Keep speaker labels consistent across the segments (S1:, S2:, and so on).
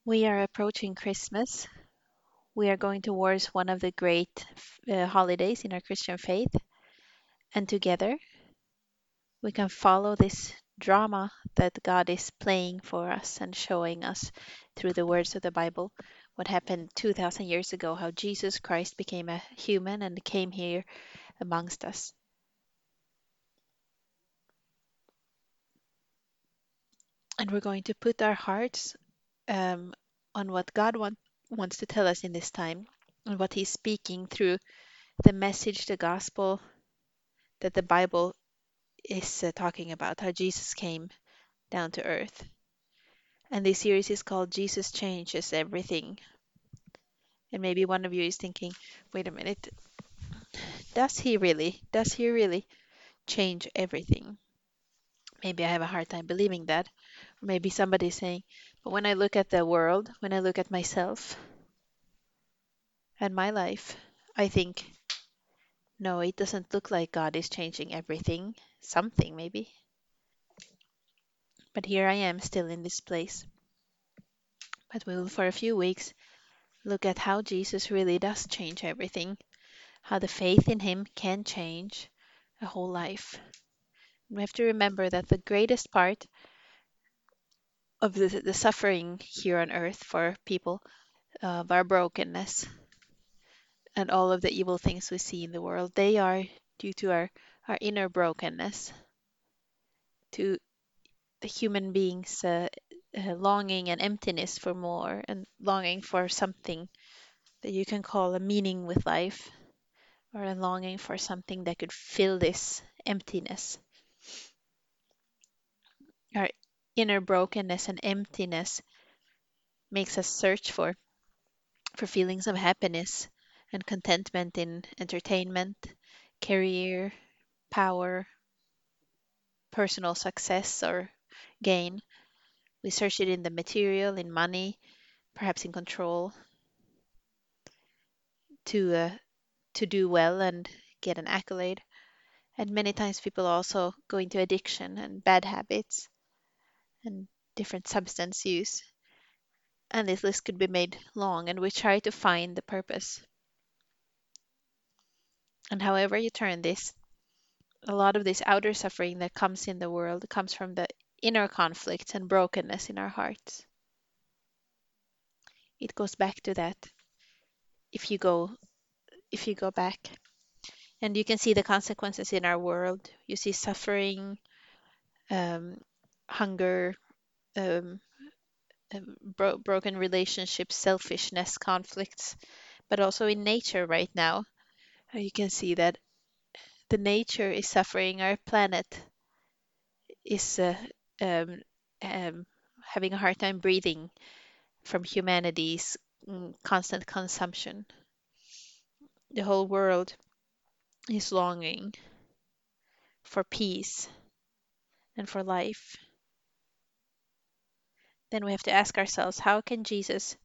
S1: We are approaching Christmas. We are going towards one of the great holidays in our Christian faith. And together, we can follow this drama that God is playing for us and showing us through the words of the Bible what happened 2000 years ago, how Jesus Christ became a human and came here amongst us. And we're going to put our hearts on what wants to tell us in this time and what He's speaking through the message, the gospel that the Bible is talking about, how Jesus came down to earth. And this series is called Jesus Changes Everything. And maybe one of you is thinking, wait a minute, does he really? Does he really change everything? Maybe I have a hard time believing that. Or maybe somebody is saying, but when I look at the world, when I look at myself and my life, I think, no, it doesn't look like God is changing everything. Something, maybe. But here I am still in this place. But we will, for a few weeks, look at how Jesus really does change everything, how the faith in him can change a whole life. We have to remember that the greatest part of the suffering here on earth for people, of our brokenness and all of the evil things we see in the world, they are due to our inner brokenness, to the human beings' longing and emptiness for more and longing for something that you can call a meaning with life or a longing for something that could fill this emptiness. Our inner brokenness and emptiness makes us search for feelings of happiness and contentment in entertainment, career, power, personal success or gain. We search it in the material, in money, perhaps in control, to uh, to do well and get an accolade. And many times people also go into addiction and bad habits and different substance use. And this list could be made long, and we try to find the purpose. And however you turn this, a lot of this outer suffering that comes in the world comes from the inner conflicts and brokenness in our hearts. It goes back to that if you go if you go back. And you can see the consequences in our world. You see suffering, um, hunger, um, broken relationships, selfishness, conflicts, but also in nature right now. You can see that the nature is suffering. Our planet is um, um, having a hard time breathing from humanity's constant consumption. The whole world is longing for peace and for life. Then we have to ask ourselves, how can Jesus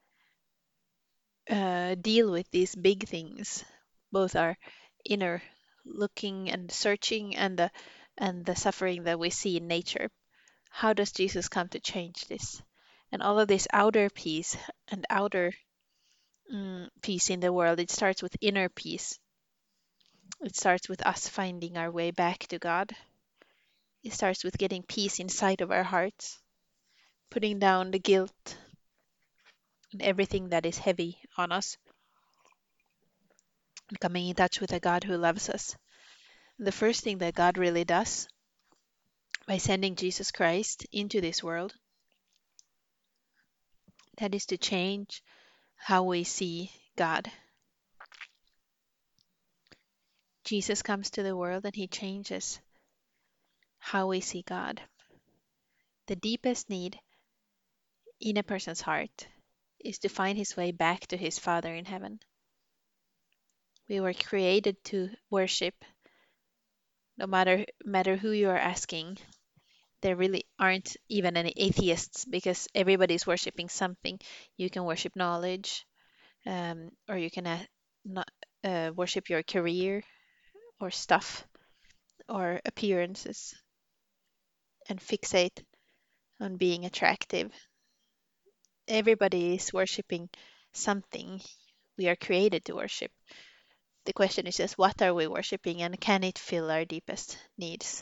S1: deal with these big things, both our inner looking and searching and the suffering that we see in nature? How does Jesus come to change this? And all of this outer peace and outer peace in the world, it starts with inner peace. It starts with us finding our way back to God. It starts with getting peace inside of our hearts, putting down the guilt and everything that is heavy on us, and coming in touch with a God who loves us. The first thing that God really does by sending Jesus Christ into this world, that is to change how we see God. Jesus comes to the world and he changes how we see God. The deepest need in a person's heart is to find his way back to his Father in heaven. We were created to worship, no matter who you are asking. There really aren't even any atheists because everybody's worshiping something. You can worship knowledge, or you can not, worship your career or stuff or appearances and fixate on being attractive. Everybody is worshiping something we are created to worship. The question is just what are we worshiping and can it fill our deepest needs?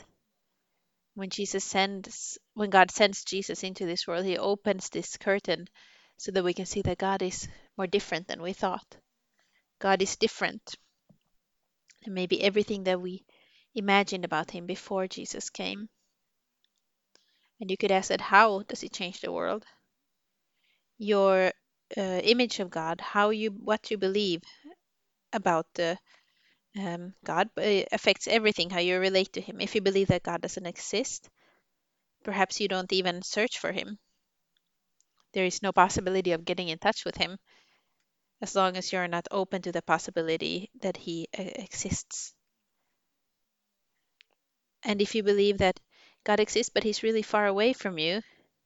S1: When God sends Jesus into this world, he opens this curtain so that we can see that God is more different than we thought. God is different than maybe everything that we imagined about him before Jesus came. And you could ask that how does he change the world? Your image of God, what you believe about God affects everything, how you relate to him. If you believe that God doesn't exist, perhaps you don't even search for him. There is no possibility of getting in touch with him as long as you're not open to the possibility that he exists. And if you believe that God exists but he's really far away from you,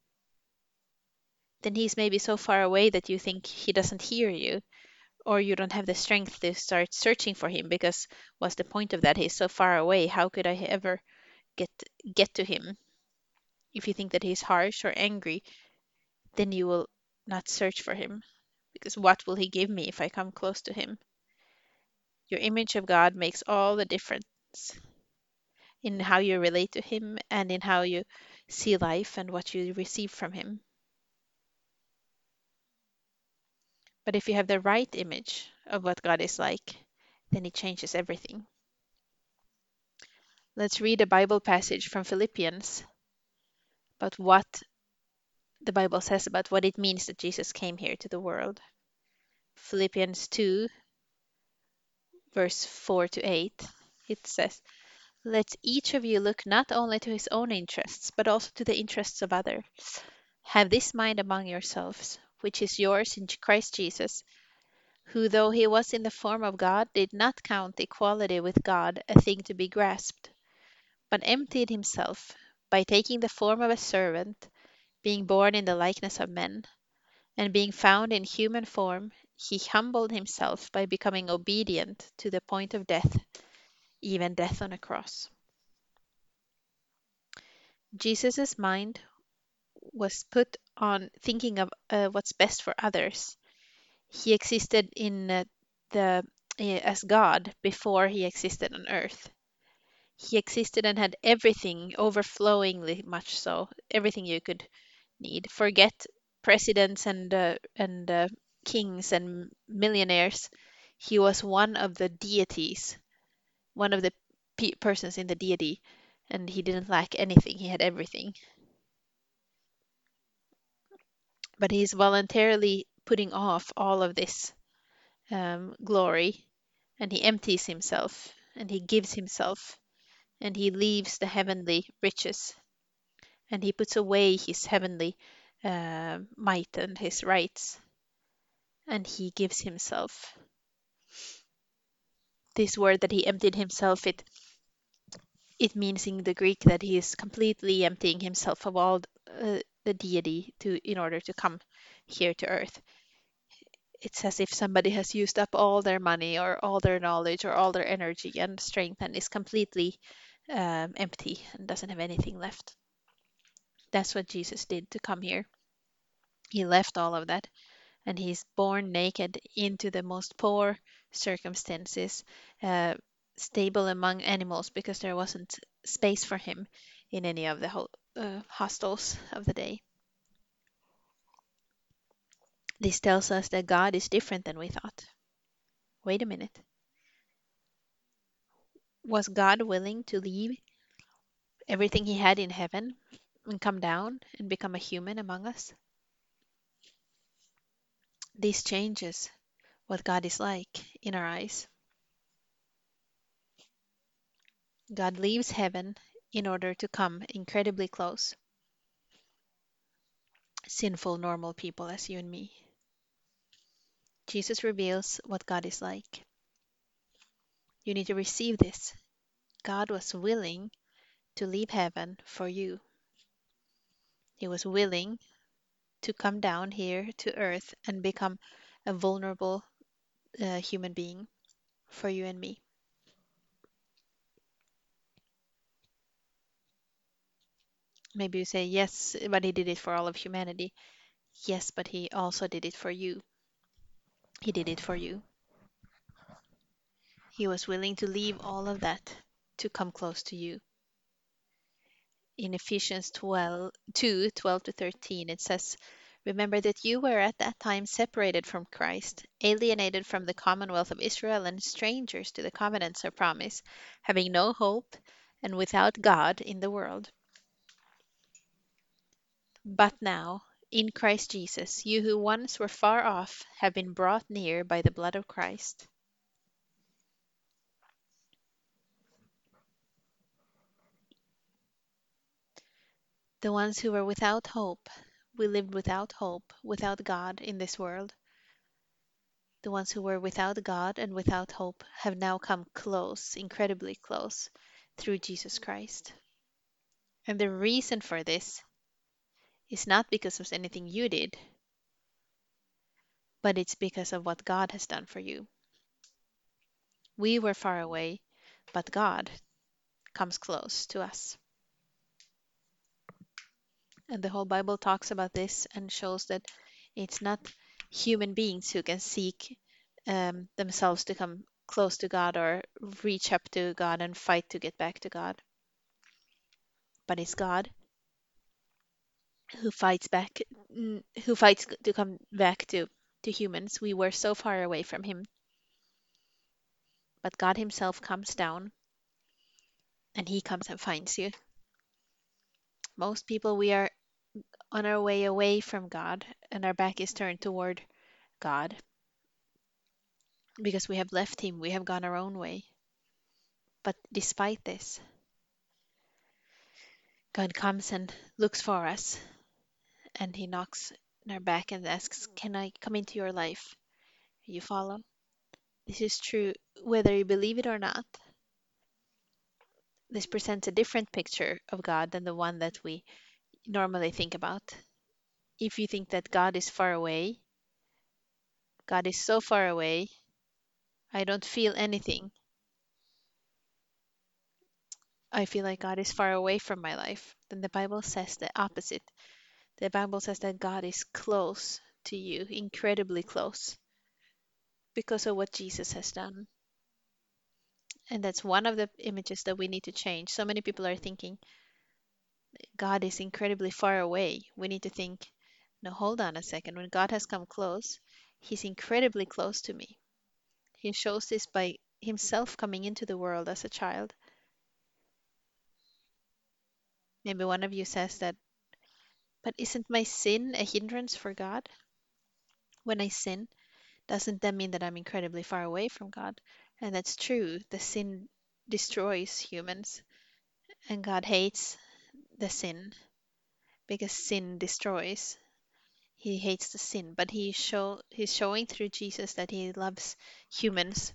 S1: then he's maybe so far away that you think he doesn't hear you, or you don't have the strength to start searching for him because what's the point of that? He's so far away. How could I ever get get to him? If you think that he's harsh or angry, then you will not search for him because what will he give me if I come close to him? Your image of God makes all the difference in how you relate to him and in how you see life and what you receive from him. But if you have the right image of what God is like, then it changes everything. Let's read a Bible passage from Philippians about what the Bible says about what it means that Jesus came here to the world. Philippians 2, verse 4 to 8. It says, let each of you look not only to his own interests, but also to the interests of others. Have this mind among yourselves, which is yours in Christ Jesus, who, though he was in the form of God, did not count equality with God a thing to be grasped, but emptied himself by taking the form of a servant, being born in the likeness of men, and being found in human form, he humbled himself by becoming obedient to the point of death, even death on a cross. Jesus' mind was put on thinking of what's best for others. He existed in the as God before he existed on earth. He existed and had everything, overflowingly much so, everything you could need. Forget presidents and kings and millionaires. He was one of the deities, one of the persons in the deity, and he didn't lack anything. He had everything. But he's voluntarily putting off all of this glory, and he empties himself, and he gives himself, and he leaves the heavenly riches, and he puts away his heavenly might and his rights, and he gives himself. This word that he emptied himself, it means in the Greek that he is completely emptying himself of all the deity to in order to come here to earth. It's as if somebody has used up all their money or all their knowledge or all their energy and strength and is completely empty and doesn't have anything left. That's what Jesus did to come here. He left all of that and he's born naked into the most poor circumstances, uh, stable among animals because there wasn't space for him in any of the hostels of the day. This tells us that God is different than we thought. Wait a minute. Was God willing to leave everything he had in heaven and come down and become a human among us? This changes what God is like in our eyes. God leaves heaven in order to come incredibly close. Sinful, normal people as you and me. Jesus reveals what God is like. You need to receive this. God was willing to leave heaven for you. He was willing to come down here to earth and become a vulnerable human being for you and me. Maybe you say, yes, but he did it for all of humanity. Yes, but he also did it for you. He did it for you. He was willing to leave all of that to come close to you. In Ephesians 12 to 13, it says, "Remember that you were at that time separated from Christ, alienated from the commonwealth of Israel, and strangers to the covenants of promise, having no hope and without God in the world. But now, in Christ Jesus, you who once were far off have been brought near by the blood of Christ." The ones who were without hope, we lived without hope, without God in this world. The ones who were without God and without hope have now come close, incredibly close, through Jesus Christ. And the reason for this is not because of anything you did, but it's because of what God has done for you. We were far away, but God comes close to us. And the whole Bible talks about this and shows that it's not human beings who can seek themselves to come close to God or reach up to God and fight to get back to God, but it's God who fights back, who fights to come back to humans. We were so far away from Him, but God Himself comes down and He comes and finds you. Most people, we are on our way away from God and our back is turned toward God because we have left Him, we have gone our own way. But despite this, God comes and looks for us and He knocks on our back and asks, "Can I come into your life?" You follow? This is true whether you believe it or not. This presents a different picture of God than the one that we normally think about. If you think that God is far away, God is so far away, I don't feel anything. I feel like God is far away from my life. Then the Bible says the opposite. The Bible says that God is close to you, incredibly close, because of what Jesus has done. And that's one of the images that we need to change. So many people are thinking God is incredibly far away. We need to think, no, hold on a second. When God has come close, He's incredibly close to me. He shows this by Himself coming into the world as a child. Maybe one of you says that, but isn't my sin a hindrance for God? When I sin, doesn't that mean that I'm incredibly far away from God? And that's true. The sin destroys humans, and God hates the sin because sin destroys. He hates the sin, but he's showing through Jesus that He loves humans.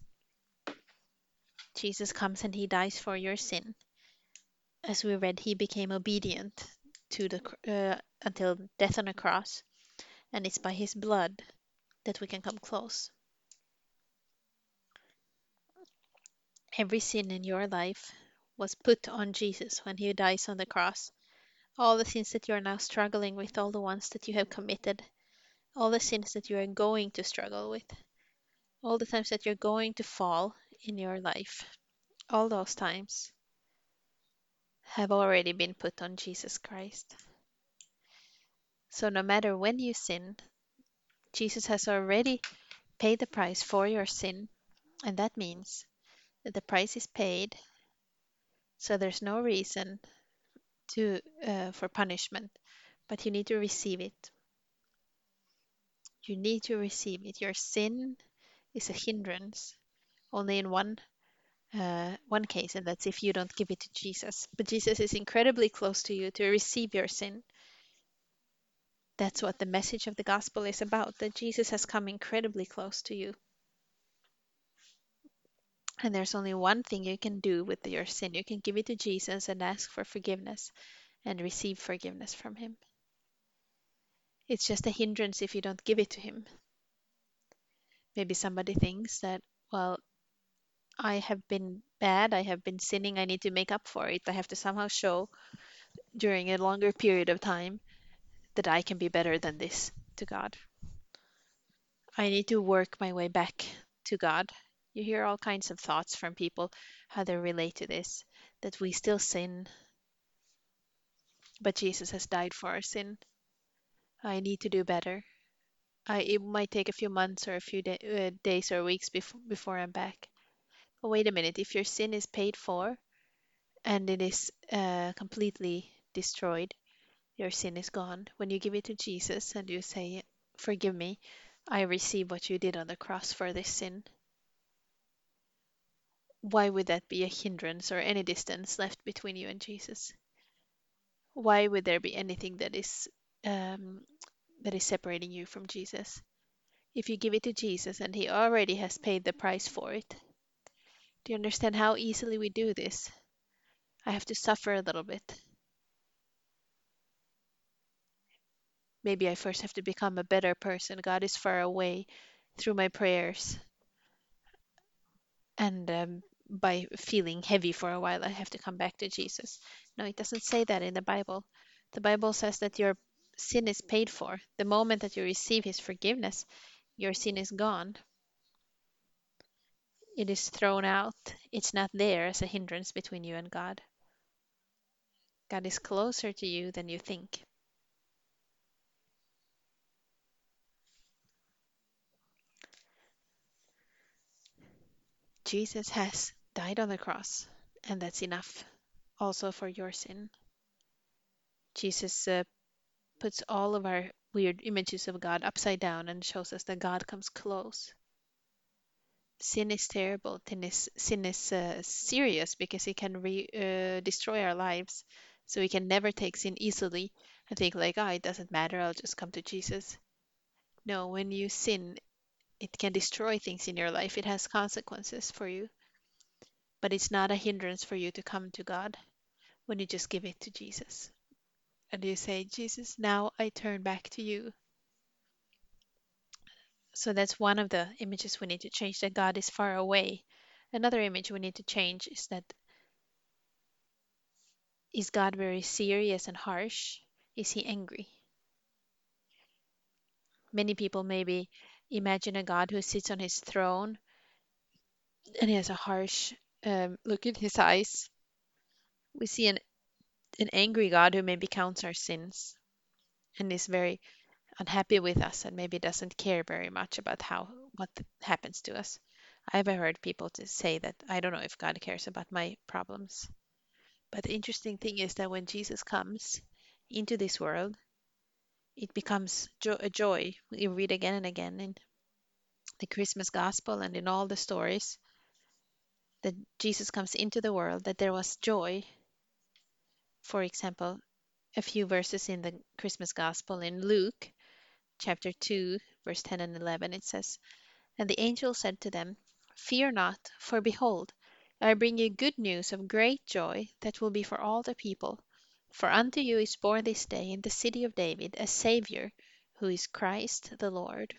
S1: Jesus comes and He dies for your sin. As we read, He became obedient to until death on a cross, and it's by His blood that we can come close. Every sin in your life was put on Jesus when He dies on the cross. All the sins that you are now struggling with, all the ones that you have committed, all the sins that you are going to struggle with, all the times that you're going to fall in your life, all those times have already been put on Jesus Christ. So no matter when you sin, Jesus has already paid the price for your sin, and that means that the price is paid, so there's no reason to for punishment, but you need to receive it. You need to receive it. Your sin is a hindrance only in one case, and that's if you don't give it to Jesus. But Jesus is incredibly close to you to receive your sin. That's what the message of the gospel is about, that Jesus has come incredibly close to you. And there's only one thing you can do with your sin. You can give it to Jesus and ask for forgiveness and receive forgiveness from Him. It's just a hindrance if you don't give it to Him. Maybe somebody thinks that, well, I have been bad, I have been sinning, I need to make up for it. I have to somehow show during a longer period of time that I can be better than this. to God. I need to work my way back to God. You hear all kinds of thoughts from people how they relate to this, that we still sin, but Jesus has died for our sin. I need to do better. It might take a few months or a few days or weeks before I'm back. But wait a minute, if your sin is paid for and it is completely destroyed, your sin is gone. When you give it to Jesus and you say, "Forgive me, I receive what you did on the cross for this sin," why would that be a hindrance or any distance left between you and Jesus? Why would there be anything um, that is separating you from Jesus? If you give it to Jesus and He already has paid the price for it, do you understand how easily we do this? I have to suffer a little bit. Maybe I first have to become a better person. God is far away through my prayers. And by feeling heavy for a while, I have to come back to Jesus. No, it doesn't say that in the Bible. The Bible says that your sin is paid for. The moment that you receive His forgiveness, your sin is gone. It is thrown out. It's not there as a hindrance between you and God. God is closer to you than you think. Jesus has died on the cross, and that's enough also for your sin. Jesus puts all of our weird images of God upside down and shows us that God comes close. Sin is terrible. Sin is serious because it can destroy our lives. So we can never take sin easily and think like, oh, it doesn't matter. I'll just come to Jesus. No, when you sin, it can destroy things in your life. It has consequences for you, but it's not a hindrance for you to come to God when you just give it to Jesus. And you say, Jesus, now I turn back to you. So that's one of the images we need to change, that God is far away. Another image we need to change is that, is God very serious and harsh? Is he angry? Many people maybe imagine a God who sits on his throne and he has a harsh look in his eyes. We see an angry God who maybe counts our sins and is very unhappy with us and maybe doesn't care very much about what happens to us. I've heard people to say that I don't know if God cares about my problems. But the interesting thing is that when Jesus comes into this world, it becomes a joy. We read again and again in the Christmas gospel and in all the stories that Jesus comes into the world, that there was joy. For example, a few verses in the Christmas gospel in Luke chapter 2, verse 10 and 11, it says, "And the angel said to them, 'Fear not, for behold, I bring you good news of great joy that will be for all the people. For unto you is born this day in the city of David a Saviour, who is Christ the Lord.'"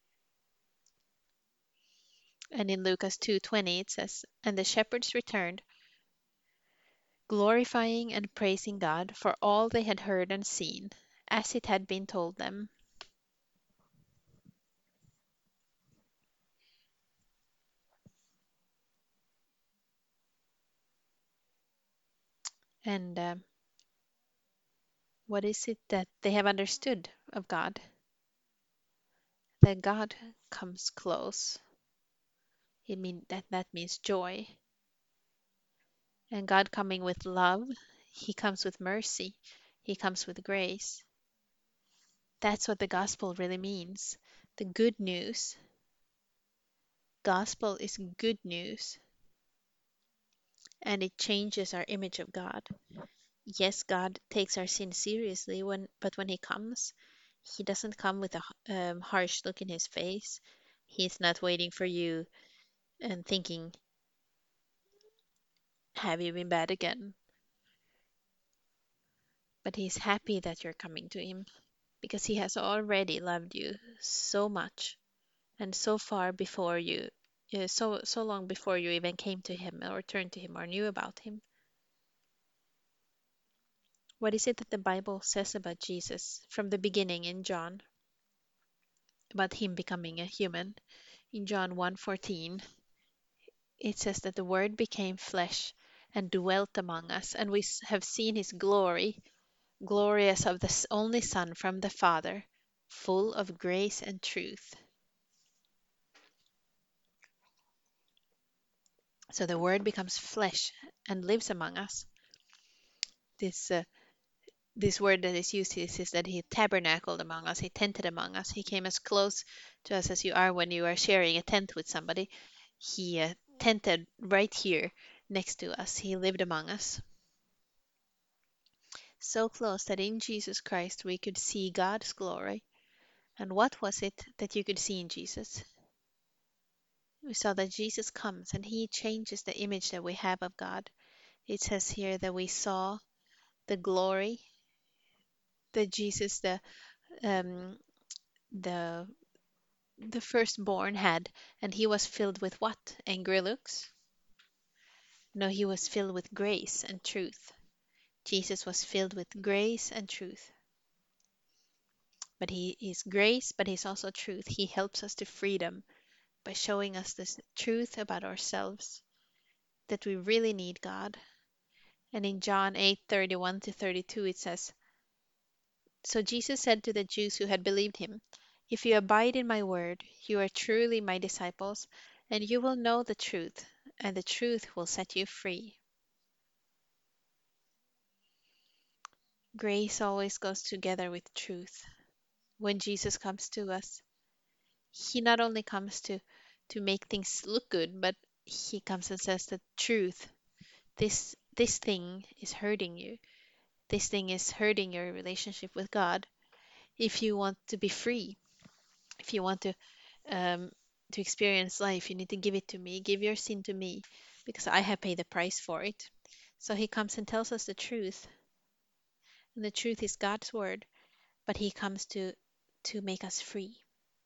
S1: And in Lucas 2:20 it says, "And the shepherds returned, glorifying and praising God for all they had heard and seen, as it had been told them." And what is it that they have understood of God? That God comes close. That means joy. And God coming with love, He comes with mercy, He comes with grace. That's what the gospel really means. The good news. Gospel is good news, and it changes our image of God. Yes, God takes our sin seriously, but when He comes, He doesn't come with a harsh look in His face. He's not waiting for you and thinking, "Have you been bad again?" But He's happy that you're coming to Him because He has already loved you so much and so far before you, so long before you even came to Him or turned to Him or knew about Him. What is it that the Bible says about Jesus from the beginning in John? about him becoming a human. In John 1:14, it says that the Word became flesh and dwelt among us, and we have seen his glory, glorious of the only Son from the Father, full of grace and truth. So the Word becomes flesh and lives among us. This this word that is used is that he tabernacled among us, he tented among us, he came as close to us as you are when you are sharing a tent with somebody. He tented right here next to us, he lived among us. So close that in Jesus Christ we could see God's glory. And what was it that you could see in Jesus? We saw that Jesus comes and he changes the image that we have of God. It says here that we saw the glory that Jesus, um, the the firstborn had, and he was filled with what? Angry looks? No, he was filled with grace and truth. Jesus was filled with grace and truth. But he is grace, but he's also truth. He helps us to freedom by showing us this truth about ourselves, that we really need God. And in John 8:31 to 32, it says, So Jesus said to the Jews who had believed him, If you abide in my word, you are truly my disciples, and you will know the truth, and the truth will set you free. Grace always goes together with truth. When Jesus comes to us, he not only comes to make things look good, but he comes and says the truth. This thing is hurting you. This thing is hurting your relationship with God. If you want to be free, if you want um, to experience life, you need to give it to me. Give your sin to me, because I have paid the price for it. So he comes and tells us the truth, and the truth is God's word. But he comes to make us free.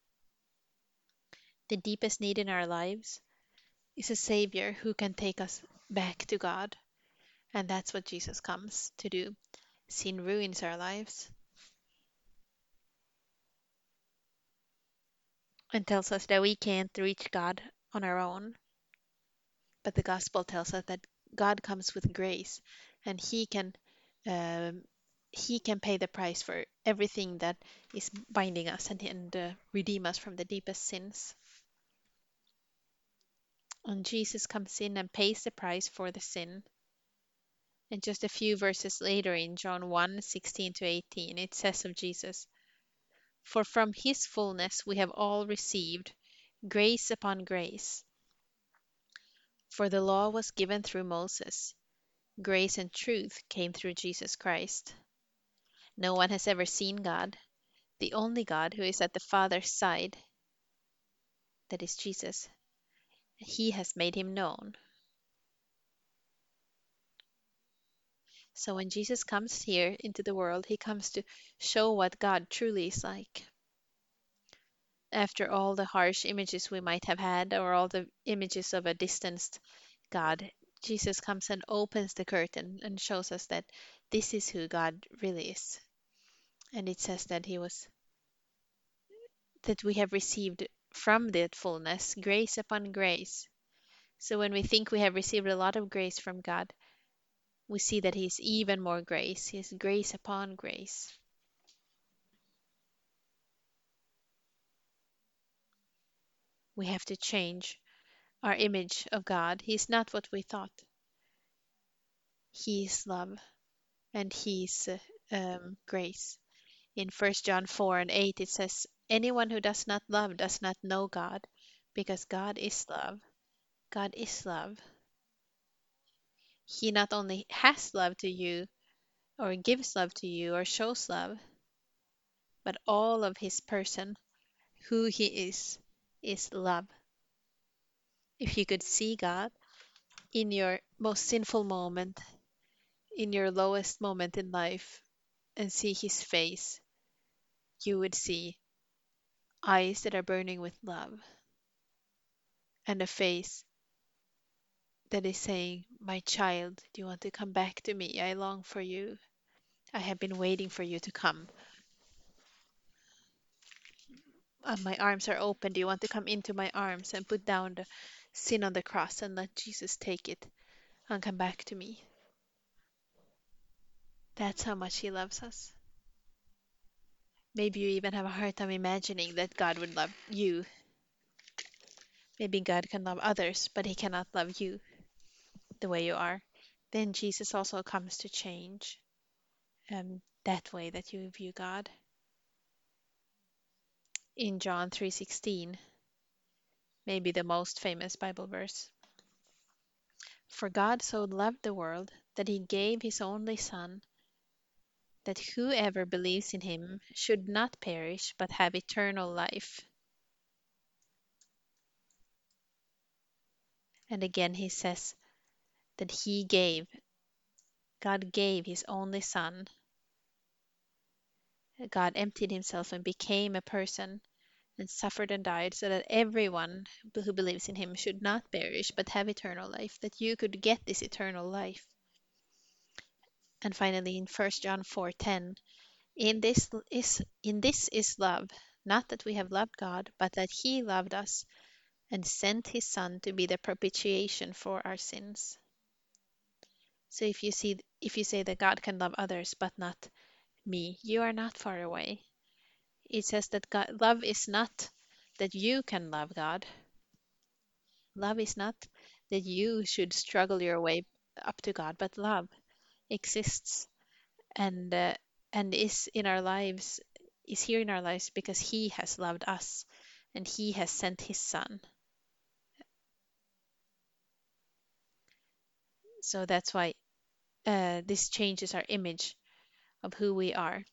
S1: The deepest need in our lives is a savior who can take us back to God, and that's what Jesus comes to do. Sin ruins our lives and tells us that we can't reach God on our own. But the gospel tells us that God comes with grace, and um, He can pay the price for everything that is binding us and redeem us from the deepest sins. And Jesus comes in and pays the price for the sin. And just a few verses later in John 1:16 to 18, it says of Jesus, For from his fullness we have all received grace upon grace. For the law was given through Moses, grace and truth came through Jesus Christ. No one has ever seen God, the only God who is at the Father's side, that is Jesus. He has made him known. So when Jesus comes here into the world, he comes to show what God truly is like. After all the harsh images we might have had, or all the images of a distanced God, Jesus comes and opens the curtain and shows us that this is who God really is. And it says that that we have received from that fullness grace upon grace. So when we think we have received a lot of grace from God, we see that He is even more grace. He is grace upon grace. We have to change our image of God. He is not what we thought. He is love and He is grace. In 1 John 4 and 8, it says, Anyone who does not love does not know God, because God is love. God is love. He not only has love to you, or gives love to you, or shows love, but all of His person, who He is love. If you could see God in your most sinful moment, in your lowest moment in life, and see His face, you would see eyes that are burning with love and a face that is saying, My child, do you want to come back to me? I long for you. I have been waiting for you to come. My arms are open. Do you want to come into my arms and put down the sin on the cross and let Jesus take it and come back to me? That's how much He loves us. Maybe you even have a hard time imagining that God would love you. Maybe God can love others, but He cannot love you the way you are. Then Jesus also comes to change that way that you view God. In John 3:16, maybe the most famous Bible verse. For God so loved the world that He gave His only Son, that whoever believes in Him should not perish but have eternal life. And again He says that God gave His only Son. God emptied Himself and became a person and suffered and died so that everyone who believes in Him should not perish but have eternal life, that you could get this eternal life. And finally in 1 John 4:10, in this is love, not that we have loved God, but that He loved us and sent His Son to be the propitiation for our sins. So if you say that God can love others but not me, you are not far away. It says that love is not that you can love God. Love is not that you should struggle your way up to God, but love exists and uh, and is here in our lives because He has loved us and He has sent His Son. So that's why this changes our image of who we are.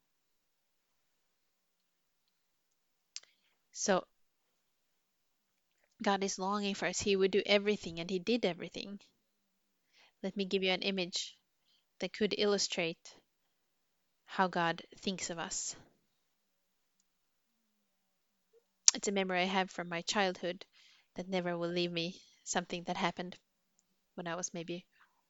S1: So God is longing for us. He would do everything and He did everything. Let me give you an image that could illustrate how God thinks of us. It's a memory I have from my childhood that never will leave me. Something that happened when I was maybe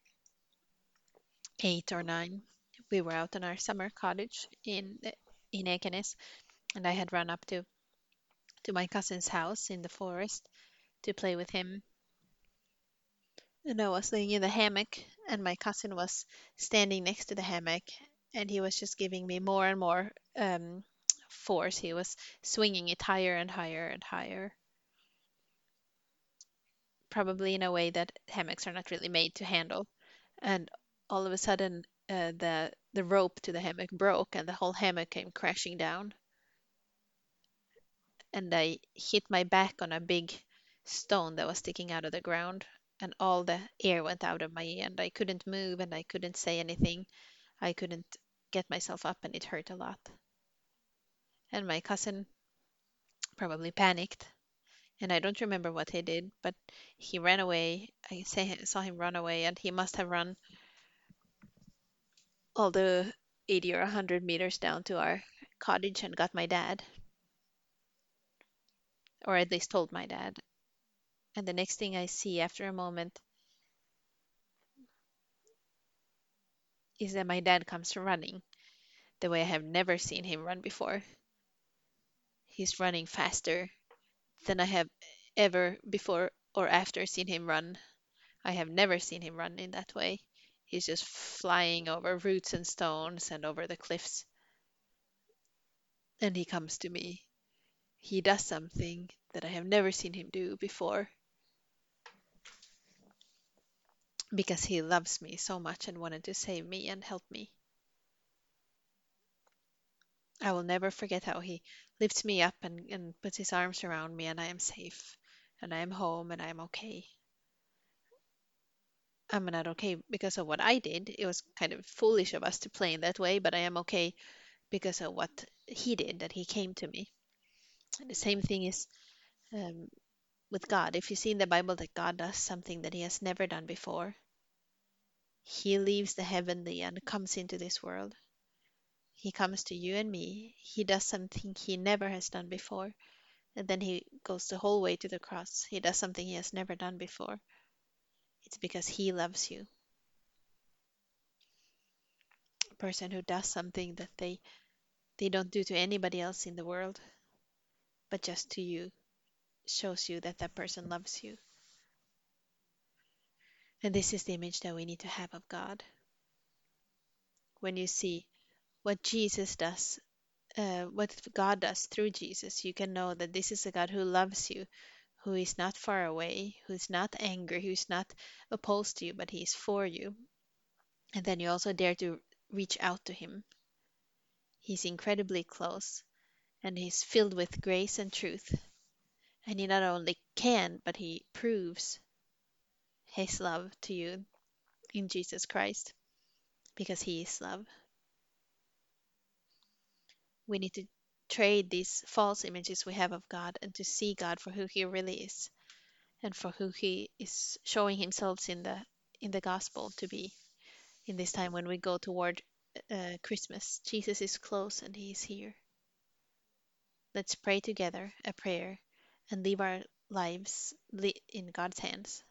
S1: 8 or 9. We were out in our summer cottage in Ekenes, and I had run up to my cousin's house in the forest to play with him. And I was laying in the hammock, and my cousin was standing next to the hammock, and he was just giving me more and more force. He was swinging it higher and higher and higher, probably in a way that hammocks are not really made to handle. And all of a sudden, the rope to the hammock broke, and the whole hammock came crashing down. And I hit my back on a big stone that was sticking out of the ground, and all the air went out of me, and I couldn't move, and I couldn't say anything. I couldn't get myself up, and it hurt a lot. And my cousin probably panicked, and I don't remember what he did, but he ran away. Saw him run away, and he must have run all the 80 or 100 meters down to our cottage and got my dad, or at least told my dad. And the next thing I see after a moment is that my dad comes running the way I have never seen him run before. He's running faster than I have ever before or after seen him run. I have never seen him run in that way. He's just flying over roots and stones and over the cliffs. And he comes to me. He does something that I have never seen him do before because he loves me so much and wanted to save me and help me. I will never forget how he lifts me up and puts his arms around me, and I am safe, and I am home, and I am okay. I'm not okay because of what I did. It was kind of foolish of us to play in that way, but I am okay because of what he did, that he came to me. And the same thing is um, with God. If you see in the Bible that God does something that he has never done before, he leaves the heavenly and comes into this world. He comes to you and me. He does something he never has done before. And then he goes the whole way to the cross. He does something he has never done before. It's because he loves you. A person who does something that they don't do to anybody else in the world. but just to you shows you that that person loves you. And this is the image that we need to have of God. When you see what Jesus does, what God does through Jesus, you can know that this is a God who loves you, who is not far away, who's not angry, who's not opposed to you, but he is for you. And then you also dare to reach out to him. He's incredibly close and he's filled with grace and truth. And he not only can, but he proves his love to you in Jesus Christ because he is love. We need to trade these false images we have of God and to see God for who he really is and for who he is showing himself in the gospel to be in this time when we go toward Christmas. Jesus is close and he is here. Let's pray together a prayer and leave our lives in God's hands.